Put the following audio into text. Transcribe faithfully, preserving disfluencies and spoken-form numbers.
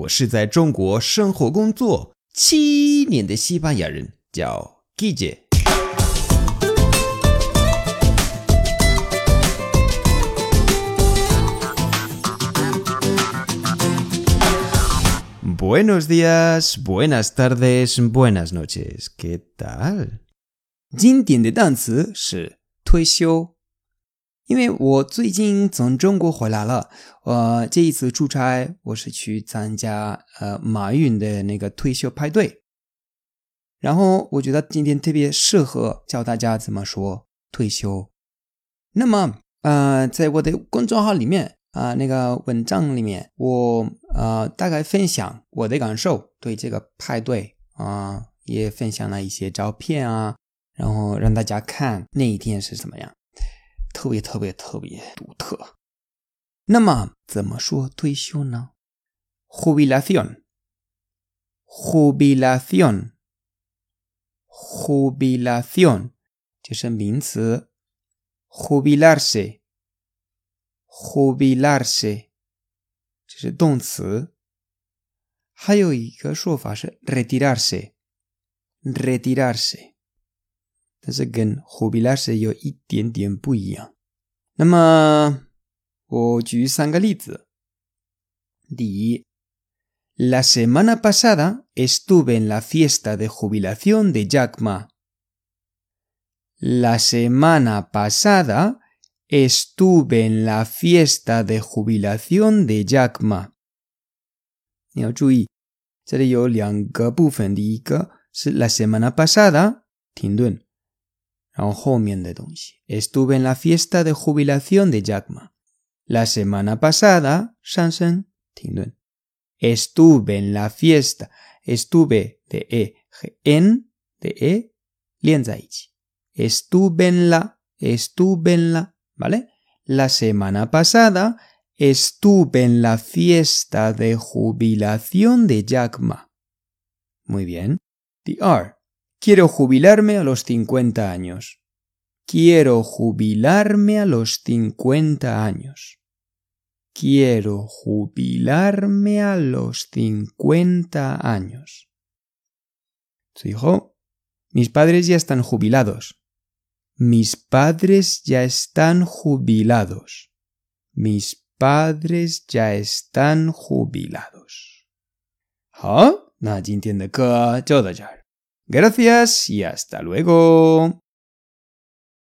我是在中国生活工作七年的西班牙人，叫 Guille。Buenos días, buenas tardes, buenas noches. ¿Qué tal? 今天的单词是退休。因为我最近从中国回来了，呃，这一次出差我是去参加呃马云的那个退休派对，然后我觉得今天特别适合教大家怎么说退休。那么呃，在我的公众号里面啊、呃，那个文章里面，我呃大概分享我的感受，对这个派对啊、呃，也分享了一些照片啊，然后让大家看那一天是怎么样。特别特别特别独特。那么怎么说退休呢？ Jubilación Jubilación Jubilación 就是名词 Jubilarse Jubilarse 这是动词。还有一个说法是 retirarse Retirarse但是跟 jubilarse 有一点点不一样。那么我举三个例子。第一 La semana pasada estuve en la fiesta de jubilación de Jack Ma. La semana pasada estuve en la fiesta de jubilación de Jack Ma. 你要注意这里有两个部分。第一个是 la semana pasada 停顿，然后后面的东西 Estuve en la fiesta de jubilación de Jack Ma. La semana pasada 上升停顿 Estuve en la fiesta Estuve de E en de E 连在一起 Estuve en la Estuve en la ¿vale? La semana pasada Estuve en la fiesta de jubilación de Jack Ma. Muy bien. The R Quiero jubilarme a los cincuenta años. Quiero jubilarme a los cincuenta años. Quiero jubilarme a los cincuenta años. 最后 Mis padres ya están jubilados. Mis padres ya están jubilados. Mis padres ya están jubilados. 好，那今天的课就到这儿。Gracias y hasta luego.